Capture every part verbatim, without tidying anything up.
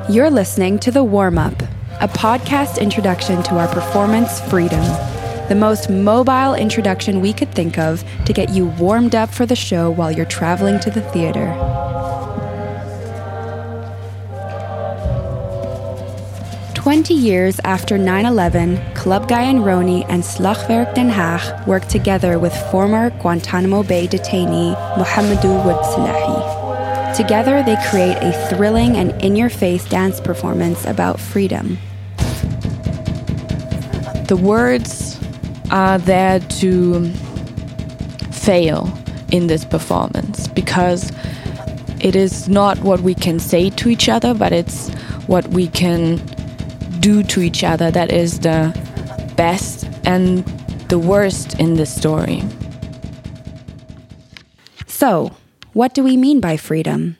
You're listening to The Warm-Up, a podcast introduction to our performance, Freedom. The most mobile introduction we could think of to get you warmed up for the show while you're traveling to the theater. Twenty years after nine eleven, Club Guy en Rony and Slagwerk Den Haag worked together with former Guantanamo Bay detainee Mohamedou Ould Slahi. Together, they create a thrilling and in-your-face dance performance about freedom. The words are there to fail in this performance because it is not what we can say to each other, but it's what we can do to each other that is the best and the worst in this story. So, what do we mean by freedom?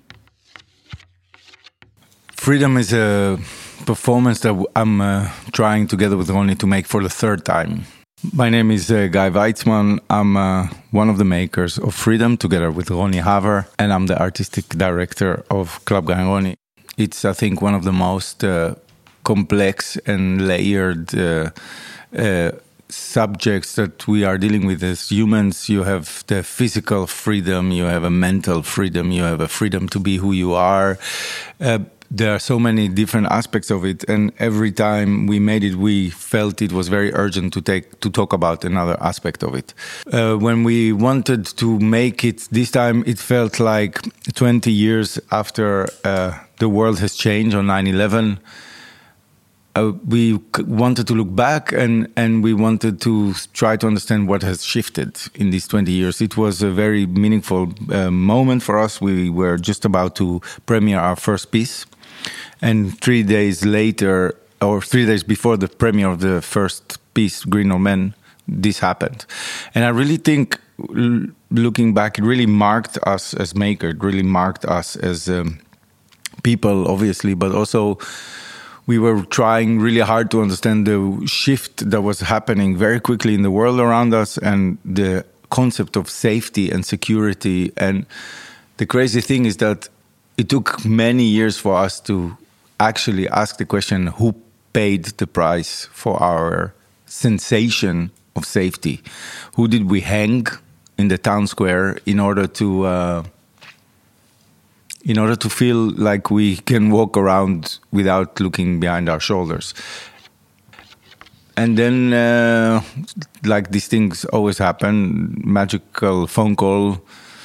Freedom is a performance that I'm uh, trying together with Rony to make for the third time. My name is uh, Guy Weitzman. I'm uh, one of the makers of Freedom together with Rony Haver, and I'm the artistic director of Club Guy en Rony. It's, I think, one of the most uh, complex and layered uh, uh, subjects that we are dealing with as humans. You have the physical freedom, you have a mental freedom, you have a freedom to be who you are. Uh, there are so many different aspects of it, and every time we made it, we felt it was very urgent to take to talk about another aspect of it. Uh, when we wanted to make it this time, it felt like twenty years after uh, the world has changed on nine eleven. Uh, we c- wanted to look back and, and we wanted to try to understand what has shifted in these twenty years. It was a very meaningful uh, moment for us. We were just about to premiere our first piece. And three days later, or three days before the premiere of the first piece, Green or Men, this happened. And I really think, l- looking back, it really marked us as makers. It really marked us as um, people, obviously, but also we were trying really hard to understand the shift that was happening very quickly in the world around us and the concept of safety and security. And the crazy thing is that it took many years for us to actually ask the question, who paid the price for our sensation of safety? Who did we hang in the town square in order to uh, in order to feel like we can walk around without looking behind our shoulders? And then, uh, like these things always happen, magical phone call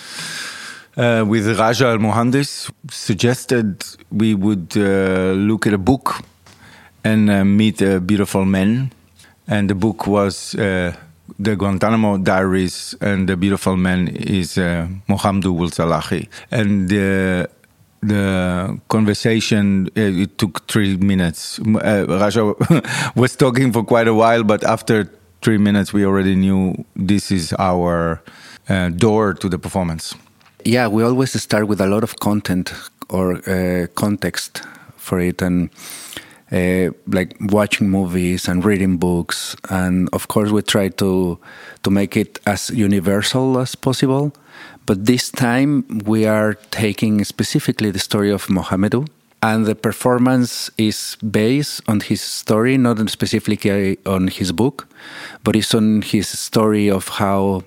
uh, with Raja Al-Mohandis suggested we would uh, look at a book and uh, meet a beautiful man. And the book was uh, the Guantanamo Diaries, and the beautiful man is uh, Mohamedou Ould Slahi. And uh, the conversation, uh, it took three minutes. Uh, Raja was talking for quite a while, but after three minutes, we already knew this is our uh, door to the performance. Yeah, we always start with a lot of content or uh, context for it, and Uh, like watching movies and reading books, and of course we try to to make it as universal as possible. But this time we are taking specifically the story of Mohamedou, and the performance is based on his story, not specifically on his book, but it's on his story of how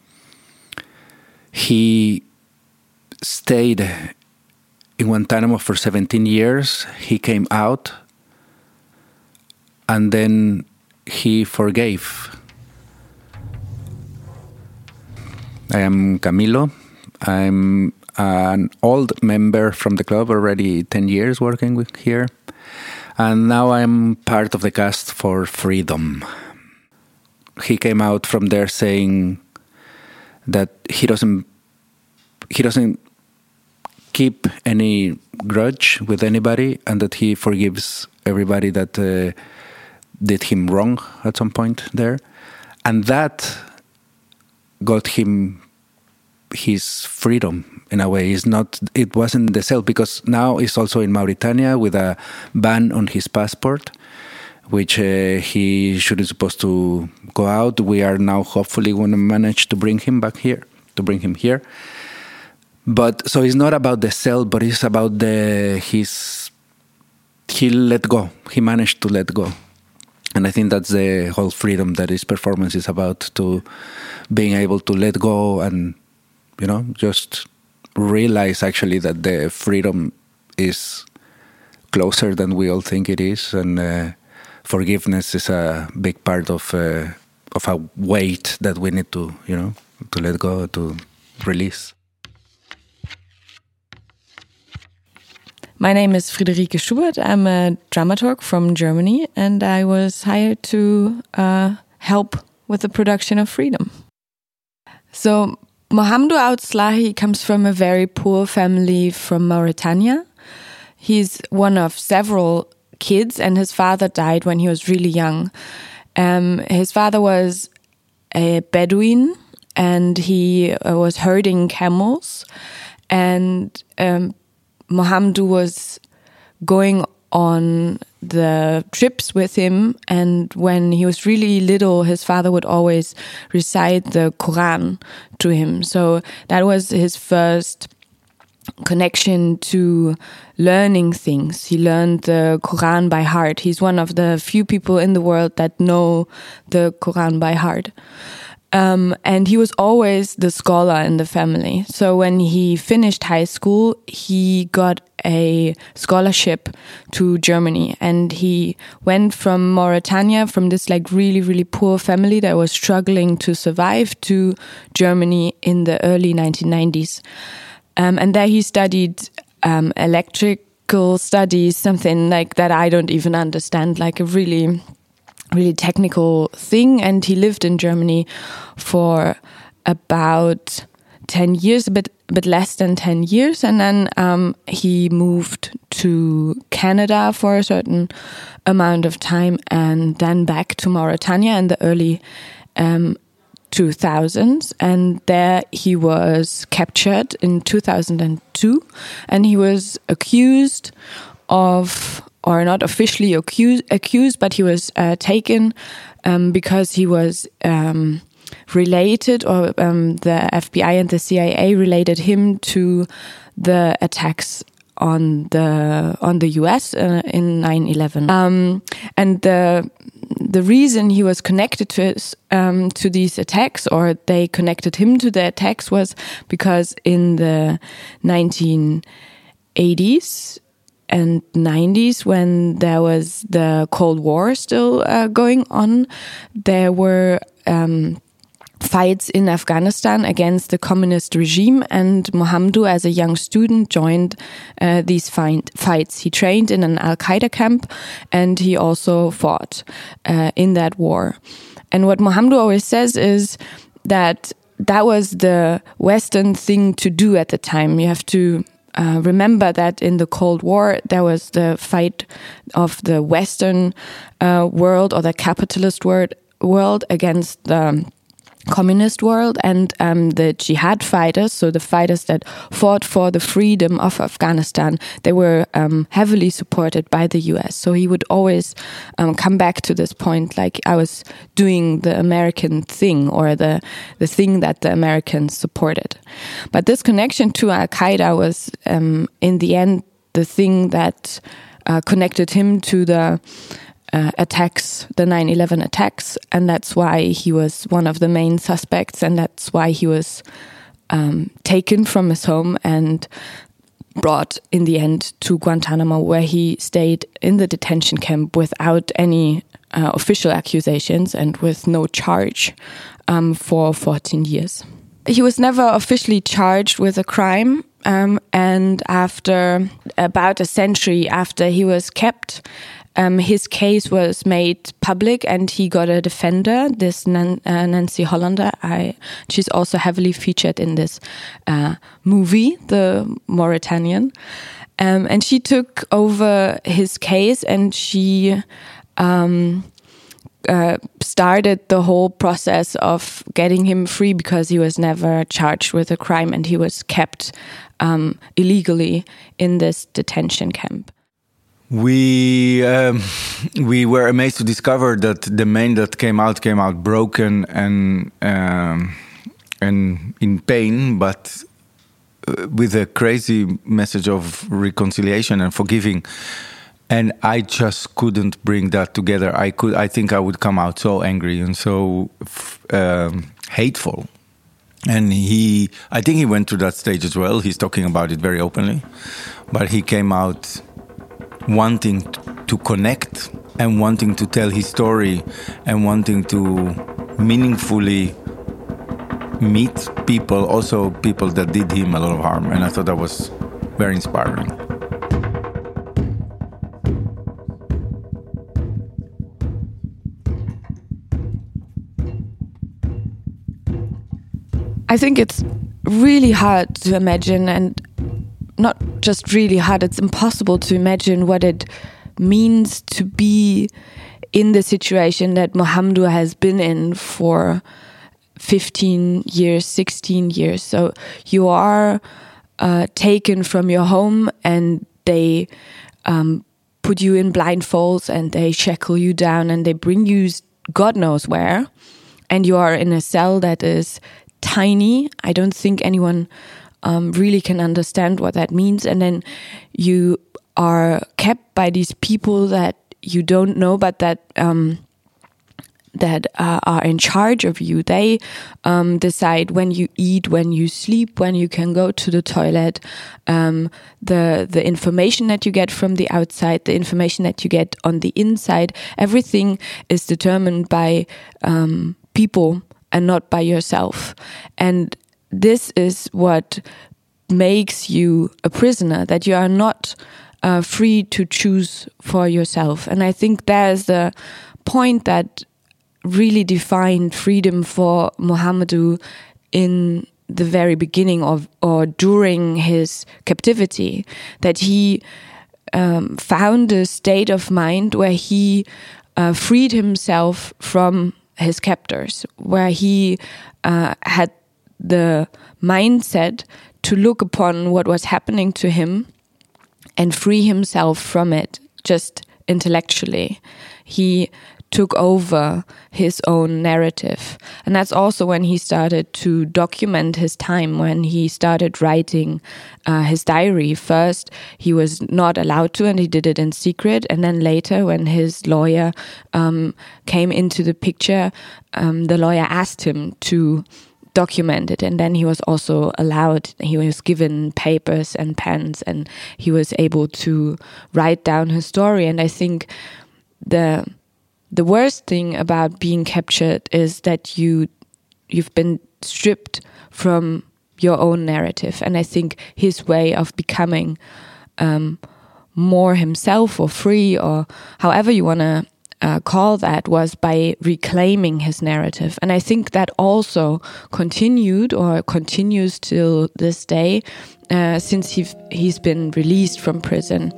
he stayed in Guantanamo for seventeen years. He came out, and then he forgave. I am Camilo. I'm an old member from the club, already ten years working with here. And now I'm part of the cast for Freedom. He came out from there saying that he doesn't he doesn't keep any grudge with anybody, and that he forgives everybody that uh, did him wrong at some point there. And that got him his freedom in a way. It's not, it wasn't the cell, because now he's also in Mauritania with a ban on his passport, which uh, he shouldn't supposed to go out. We are now hopefully going to manage to bring him back here, to bring him here. But so it's not about the cell, but it's about the his he let go. He managed to let go. And I think that's the whole freedom that his performance is about, to being able to let go and, you know, just realize actually that the freedom is closer than we all think it is. And uh, forgiveness is a big part of uh, of a weight that we need to, you know, to let go, to release. My name is Friederike Schubert. I'm a dramaturg from Germany, and I was hired to uh, help with the production of Freedom. So Mohamedou Ould Slahi comes from a very poor family from Mauritania. He's one of several kids, and his father died when he was really young. Um, his father was a Bedouin, and he uh, was herding camels, and um, Mohamedou was going on the trips with him, and when he was really little, his father would always recite the Quran to him. So that was his first connection to learning things. He learned the Quran by heart. He's one of the few people in the world that know the Quran by heart. Um, and he was always the scholar in the family. So when he finished high school, he got a scholarship to Germany, and he went from Mauritania, from this like really, really poor family that was struggling to survive, to Germany in the early nineteen nineties. Um, and there he studied um, electrical studies, something like that I don't even understand, like a really... really technical thing. And he lived in Germany for about ten years, a bit a bit less than ten years, and then um, he moved to Canada for a certain amount of time, and then back to Mauritania in the early um, two thousands, and there he was captured in two thousand two, and he was accused of, or not officially accused, accused but he was uh, taken um, because he was um, related, or um, the F B I and the C I A related him to the attacks on the on the U S uh, in nine eleven. Um, and the the reason he was connected to his, um, to these attacks, or they connected him to the attacks, was because in the nineteen eighties and nineties, when there was the Cold War still uh, going on, there were um, fights in Afghanistan against the communist regime, and Mohamedou, as a young student, joined uh, these fight fights. He trained in an Al-Qaeda camp, and he also fought uh, in that war. And what Mohamedou always says is that that was the Western thing to do at the time. You have to Uh, remember that in the Cold War, there was the fight of the Western uh, world, or the capitalist world, world against the communist world, and um, the jihad fighters, so the fighters that fought for the freedom of Afghanistan, they were um, heavily supported by the U S. So he would always um, come back to this point, like, I was doing the American thing, or the, the thing that the Americans supported. But this connection to Al-Qaeda was, um, in the end, the thing that uh, connected him to the Uh, attacks, the nine eleven attacks, and that's why he was one of the main suspects, and that's why he was um, taken from his home and brought in the end to Guantanamo, where he stayed in the detention camp without any uh, official accusations and with no charge um, for fourteen years. He was never officially charged with a crime, um, and after about a century after he was kept, Um, his case was made public, and he got a defender, this Nan- uh, Nancy Hollander. I, she's also heavily featured in this uh, movie, The Mauritanian. Um, and she took over his case, and she um, uh, started the whole process of getting him free, because he was never charged with a crime, and he was kept um, illegally in this detention camp. We um, we were amazed to discover that the man that came out came out broken and um, and in pain, but with a crazy message of reconciliation and forgiving. And I just couldn't bring that together. I could. I think I would come out so angry and so um, hateful. And he, I think he went through that stage as well. He's talking about it very openly. But he came out wanting to connect and wanting to tell his story and wanting to meaningfully meet people, also people that did him a lot of harm. And I thought that was very inspiring. I think it's really hard to imagine, and not just really hard, it's impossible to imagine what it means to be in the situation that Mohamedou has been in for fifteen years, sixteen years. So you are uh, taken from your home and they um, put you in blindfolds and they shackle you down and they bring you God knows where. And you are in a cell that is tiny. I don't think anyone um, really can understand what that means. And then you are kept by these people that you don't know, but that um, that uh, are in charge of you. They um, decide when you eat, when you sleep, when you can go to the toilet. Um, the the information that you get from the outside, the information that you get on the inside, everything is determined by um, people and not by yourself. And this is what makes you a prisoner, that you are not uh, free to choose for yourself. And I think there's the point that really defined freedom for Mohamedou in the very beginning of or during his captivity, that he um, found a state of mind where he uh, freed himself from his captors, where he uh, had the mindset to look upon what was happening to him and free himself from it just intellectually. He took over his own narrative. And that's also when he started to document his time, when he started writing uh, his diary. First, he was not allowed to, and he did it in secret. And then later, when his lawyer um, came into the picture, um, the lawyer asked him to document it. And then he was also allowed, he was given papers and pens, and he was able to write down his story. And I think the The worst thing about being captured is that you, you've been stripped from your own narrative. And I think his way of becoming um, more himself or free, or however you want to uh, call that, was by reclaiming his narrative. And I think that also continued or continues till this day uh, since he he's been released from prison.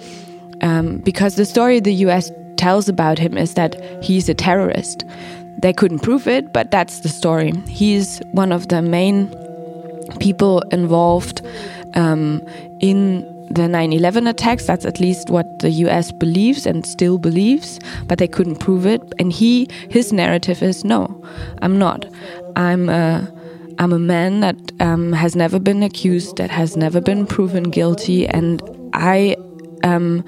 Um, because the story the U S tells about him is that he's a terrorist. They couldn't prove it, but that's the story. He's one of the main people involved um, in the nine eleven attacks. That's at least what the U S believes and still believes, but they couldn't prove it. And he, his narrative is, no, I'm not. I'm a, I'm a man that um, has never been accused, that has never been proven guilty, and I um,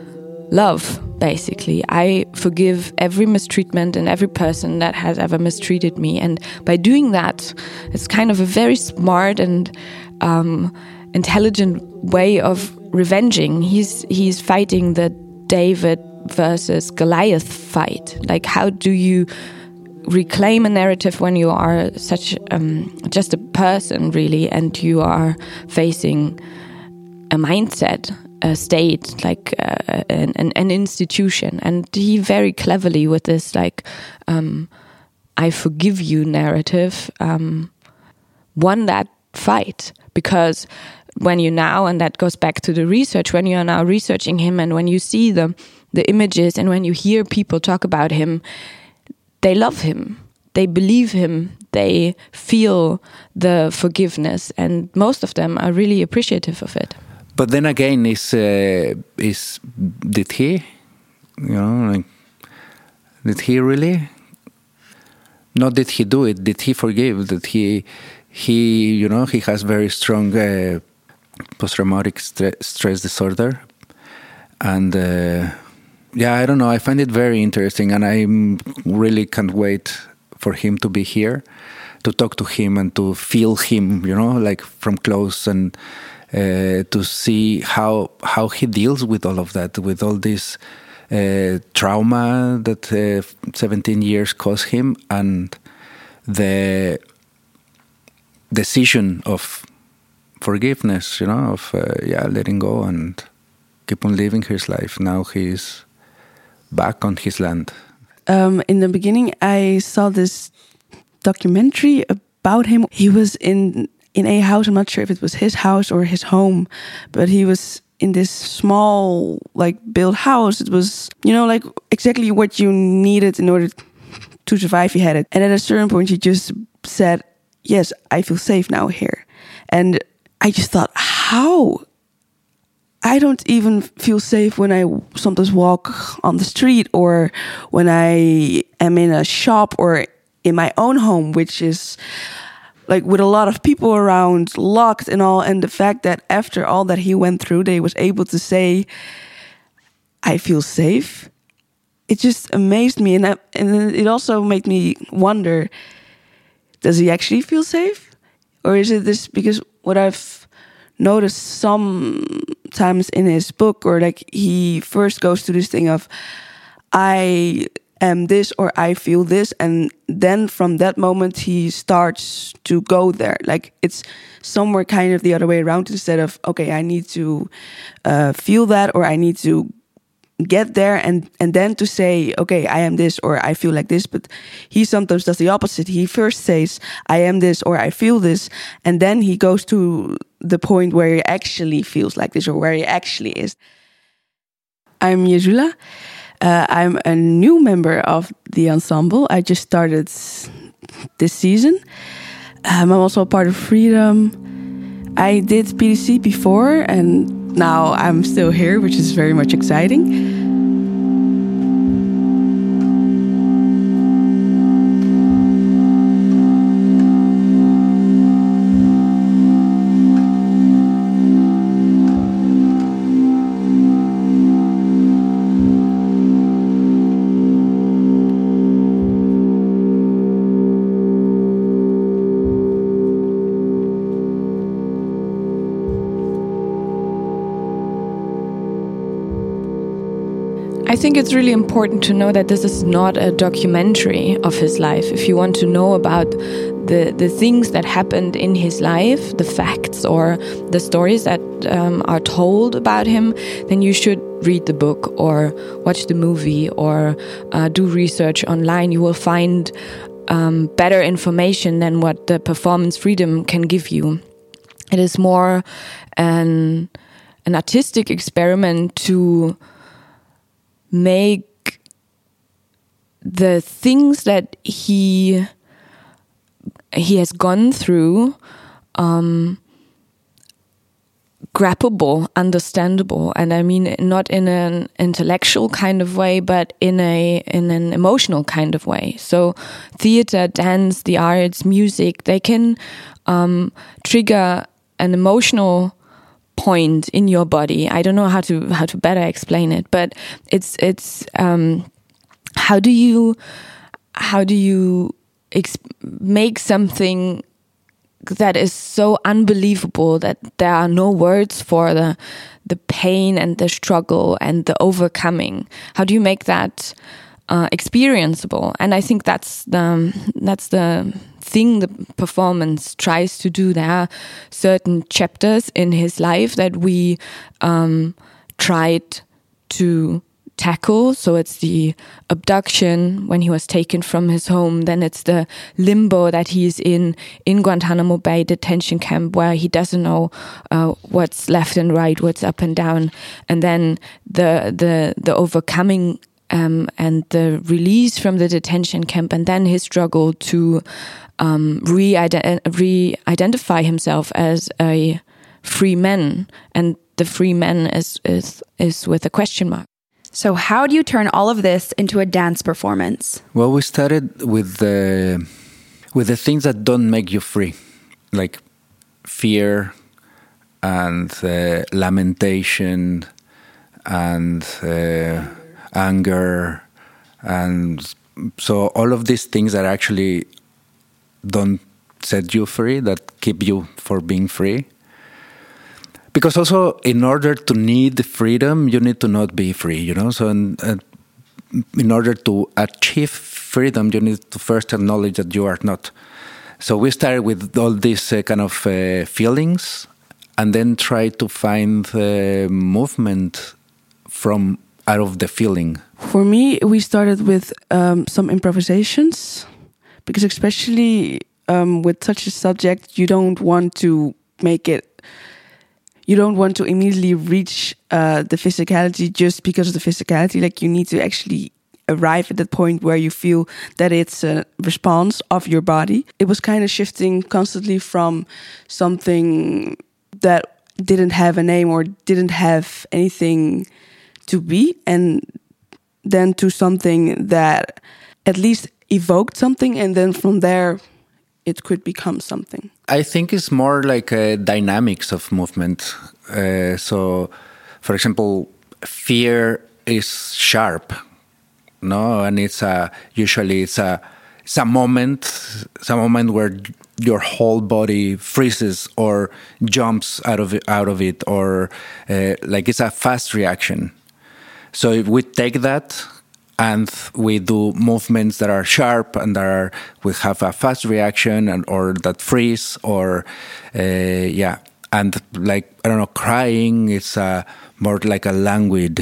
love, basically. I forgive every mistreatment and every person that has ever mistreated me. And by doing that, it's kind of a very smart and um, intelligent way of revenging. He's he's fighting the David versus Goliath fight. Like, how do you reclaim a narrative when you are such um, just a person, really, and you are facing a mindset, a state, like uh, an, an, an institution. And he very cleverly, with this like um, I forgive you narrative, um, won that fight. Because when you now, and that goes back to the research, when you are now researching him and when you see the, the images and when you hear people talk about him, they love him, they believe him, they feel the forgiveness, and most of them are really appreciative of it. But then again, is uh, is did he, you know, like, did he really? Not did he do it? Did he forgive? Did he? He, you know, he has very strong uh, post-traumatic stre- stress disorder, and uh, yeah, I don't know. I find it very interesting, and I really can't wait for him to be here, to talk to him and to feel him, you know, like from close, and uh, to see how how he deals with all of that, with all this uh, trauma that uh, seventeen years caused him, and the decision of forgiveness, you know, of uh, yeah, letting go and keep on living his life. Now he's back on his land. Um, in the beginning, I saw this documentary about him. He was in in a house. I'm not sure if it was his house or his home, but he was in this small, like, built house. It was, you know, like exactly what you needed in order to survive. He had it, and at a certain point, he just said, "Yes, I feel safe now here." And I just thought, how? I don't even feel safe when I sometimes walk on the street, or when I am in a shop, or in my own home, which is like with a lot of people around, locked and all. And the fact that after all that he went through, they was able to say, "I feel safe." It just amazed me. And, that, and it also made me wonder, does he actually feel safe? Or is it this, because what I've noticed sometimes in his book, or like he first goes to this thing of, I am this, or I feel this, and then from that moment he starts to go there. Like it's somewhere kind of the other way around, instead of, okay, I need to uh, feel that, or I need to get there, and and then to say, okay, I am this, or I feel like this. But he sometimes does the opposite. He first says, I am this, or I feel this, and then he goes to the point where he actually feels like this, or where he actually is. I'm Yezula. Uh, I'm a new member of the ensemble. I just started this season. Um, I'm also a part of Freedom. I did P D C before, and now I'm still here, which is very much exciting. I think it's really important to know that this is not a documentary of his life. If you want to know about the, the things that happened in his life, the facts or the stories that um, are told about him, then you should read the book or watch the movie or uh, do research online. You will find um, better information than what the Performance Freedom can give you. It is more an, an artistic experiment to make the things that he he has gone through um, graspable, understandable, and I mean not in an intellectual kind of way, but in a in an emotional kind of way. So, theater, dance, the arts, music, they can um, trigger an emotional point in your body. I don't know how to how to better explain it, but it's it's um, how do you how do you ex- make something that is so unbelievable that there are no words for the the pain and the struggle and the overcoming? How do you make that uh, experienceable? And I think that's the that's the thing the performance tries to do. There are certain chapters in his life that we um, tried to tackle. So it's the abduction when he was taken from his home. Then it's the limbo that he's in in Guantanamo Bay detention camp, where he doesn't know uh, what's left and right, what's up and down. And then the the the overcoming um, and the release from the detention camp, and then his struggle to um, re-ident- re-identify himself as a free man. And the free man is is is with a question mark. So how do you turn all of this into a dance performance? Well, we started with the with the things that don't make you free, like fear and uh, lamentation and uh, anger, and so all of these things that actually don't set you free, that keep you for being free. Because also, in order to need freedom, you need to not be free, you know? So in, uh, in order to achieve freedom, you need to first acknowledge that you are not. So we started with all these uh, kind of uh, feelings, and then try to find uh, movement from out of the feeling. For me, we started with um, some improvisations, because especially um, with such a subject, you don't want to make it You don't want to immediately reach uh, the physicality just because of the physicality. Like, you need to actually arrive at that point where you feel that it's a response of your body. It was kind of shifting constantly from something that didn't have a name or didn't have anything to be, and then to something that at least evoked something, and then from there it could become something. I think it's more like a dynamics of movement. Uh, so, for example, fear is sharp, no, and it's a usually it's a it's a moment, it's a moment where your whole body freezes or jumps out of it, out of it, or uh, like it's a fast reaction. So if we take that and we do movements that are sharp and that are, we have a fast reaction and or that freeze or uh, yeah, and like I don't know, crying. It's a more like a languid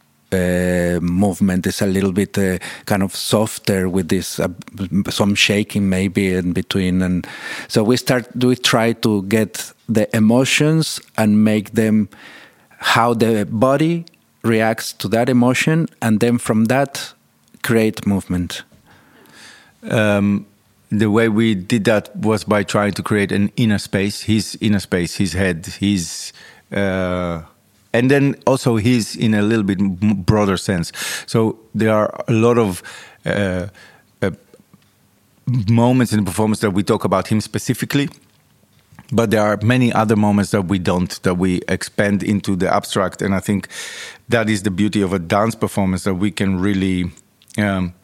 uh, movement. It's a little bit uh, kind of softer with this uh, some shaking maybe in between, and so we start we try to get the emotions and make them how the body reacts to that emotion, and then from that create movement. Um, the way we did that was by trying to create an inner space, his inner space, his head, his, uh, and then also his in a little bit broader sense. So there are a lot of uh, uh, moments in the performance that we talk about him specifically. But there are many other moments that we don't, that we expand into the abstract. And I think that is the beauty of a dance performance, that we can really um,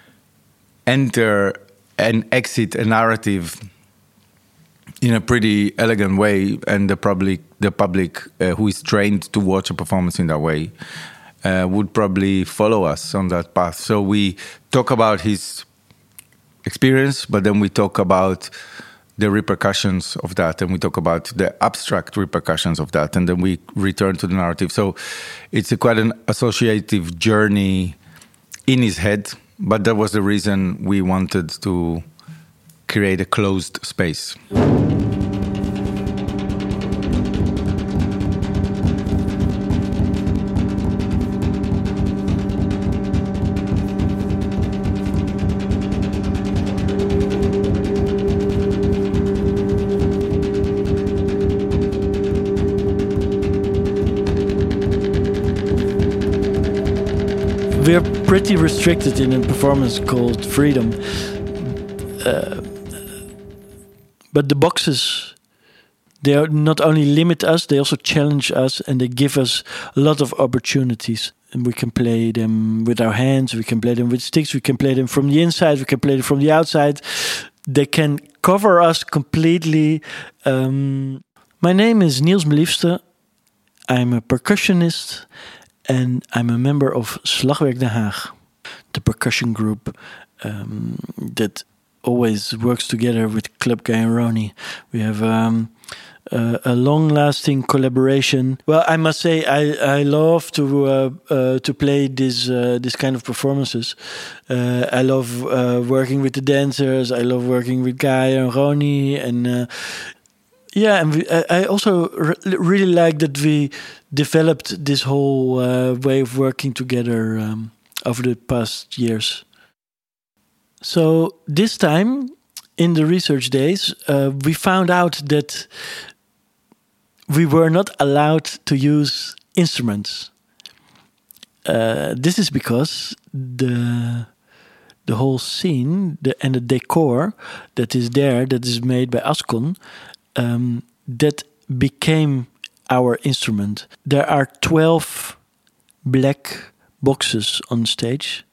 enter and exit a narrative in a pretty elegant way. And the public, the public uh, who is trained to watch a performance in that way uh, would probably follow us on that path. So we talk about his experience, but then we talk about the repercussions of that, and we talk about the abstract repercussions of that, and then we return to the narrative. So it's a quite an associative journey in his head, but that was the reason we wanted to create a closed space. We're pretty restricted in a performance called Freedom. Uh, but the boxes, they are not only limit us, they also challenge us, and they give us a lot of opportunities. And we can play them with our hands, we can play them with sticks, we can play them from the inside, we can play them from the outside. They can cover us completely. Um, my name is Niels Meliefste. I'm a percussionist. And I'm a member of Slagwerk Den Haag, the percussion group um, that always works together with Club Guy and Ronnie. We have um, a, a long-lasting collaboration. Well, I must say I, I love to uh, uh, to play this uh, this kind of performances. Uh, I love uh, working with the dancers. I love working with Guy and Ronnie, and uh, yeah, and we, I, I also re- really like that we developed this whole uh, way of working together um, over the past years. So this time, in the research days, uh, we found out that we were not allowed to use instruments. Uh, this is because the the whole scene the, and the decor that is there, that is made by Ascon, um, that became our instrument. There are twelve black boxes on stage.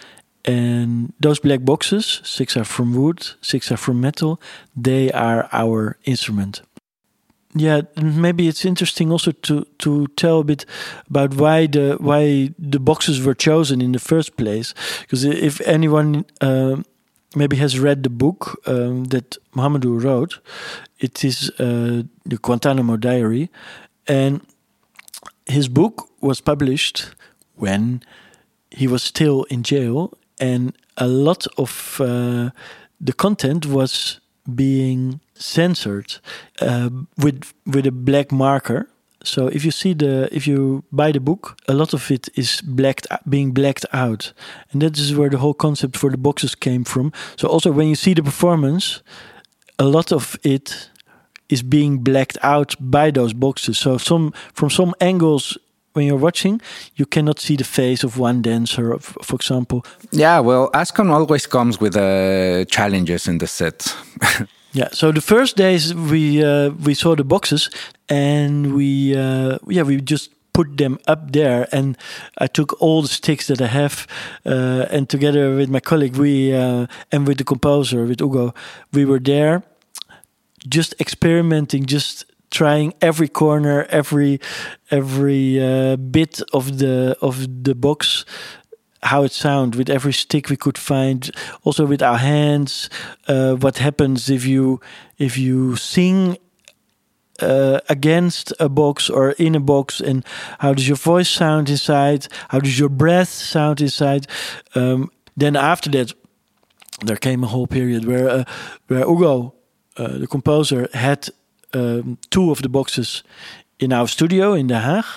And those black boxes, six are from wood, six are from metal, they are our instrument. Yeah, maybe it's interesting also to, to tell a bit about why the why the boxes were chosen in the first place. Because if anyone uh, maybe has read the book um, that Mohamedou wrote, it is uh, the Guantanamo Diary, and his book was published when he was still in jail, and a lot of uh, the content was being censored uh, with with a black marker. So if you see the if you buy the book, a lot of it is blacked being blacked out, and that is where the whole concept for the boxes came from. So also when you see the performance, a lot of it is being blacked out by those boxes. So some from some angles, when you're watching, you cannot see the face of one dancer, for example. Yeah, well, Ascon always comes with uh, challenges in the set. Yeah, so the first days we uh, we saw the boxes, and we uh, yeah we just put them up there, and I took all the sticks that I have, uh, and together with my colleague, we uh, and with the composer, with Hugo, we were there, just experimenting, just trying every corner, every every uh, bit of the of the box, how it sounds with every stick we could find. Also with our hands, uh, what happens if you if you sing uh, against a box or in a box, and how does your voice sound inside? How does your breath sound inside? Um, then after that, there came a whole period where uh, where Hugo, uh, the composer, had Um, two of the boxes in our studio in The Hague,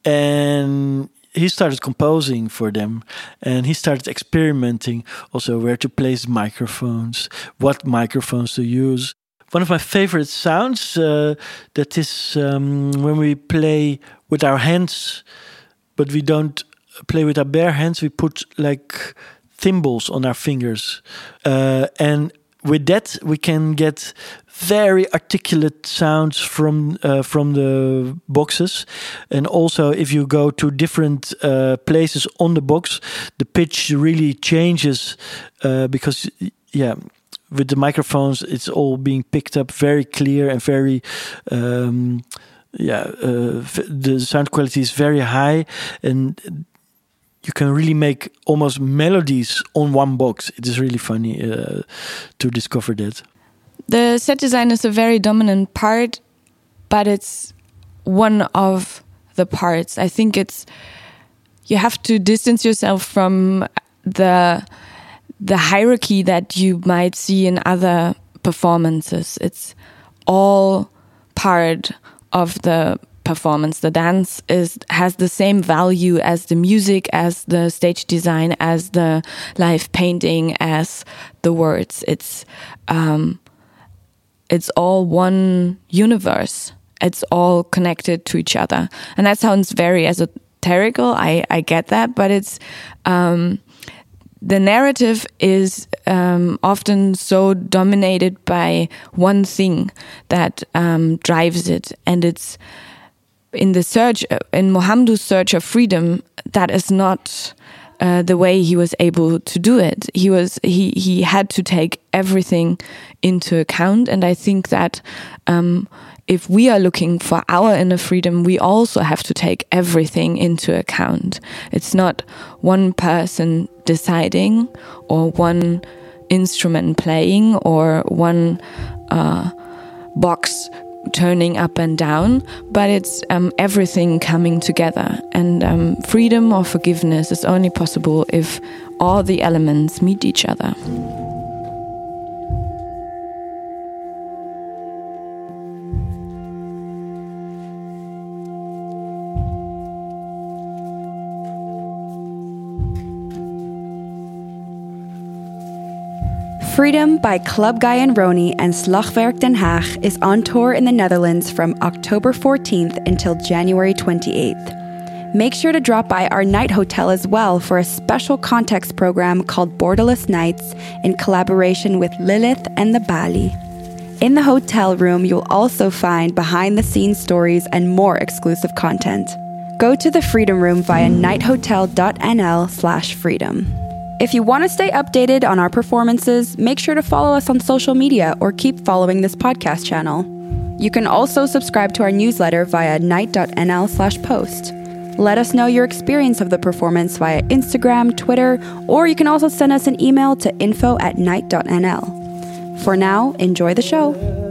and he started composing for them, and he started experimenting also where to place microphones, what microphones to use. One of my favorite sounds uh, that is um, when we play with our hands, but we don't play with our bare hands. We put like thimbles on our fingers, uh, and with that we can get very articulate sounds from uh, from the boxes. And also if you go to different uh, places on the box, the pitch really changes uh, because yeah with the microphones it's all being picked up very clear and very um, yeah uh, the sound quality is very high, and you can really make almost melodies on one box. It is really funny uh, to discover that. The set design is a very dominant part, but it's one of the parts. I think it's you have to distance yourself from the the hierarchy that you might see in other performances. It's all part of the performance. The dance is has the same value as the music, as the stage design, as the live painting, as the words. It's um, it's all one universe. It's all connected to each other. And that sounds very esoterical. I, I get that, but it's um, the narrative is um, often so dominated by one thing that um, drives it. And it's in the search, in Mohamedou's search of freedom, that is not uh, the way he was able to do it. He was he he had to take everything into account, and I think that um, if we are looking for our inner freedom, we also have to take everything into account. It's not one person deciding, or one instrument playing, or one uh, box turning up and down, but it's um, everything coming together. And um, freedom or forgiveness is only possible if all the elements meet each other. Freedom by Club Guy and Rony and Slagwerk Den Haag is on tour in the Netherlands from October fourteenth until January twenty-eighth. Make sure to drop by our night hotel as well for a special context program called Borderless Nights in collaboration with Lilith and the Bali. In the hotel room, you'll also find behind-the-scenes stories and more exclusive content. go to the Freedom Room via nighthotel.nl slash freedom. If you want to stay updated on our performances, make sure to follow us on social media or keep following this podcast channel. You can also subscribe to our newsletter via night.nl slash post. Let us know your experience of the performance via Instagram, Twitter, or you can also send us an email to info at night.nl. For now, enjoy the show.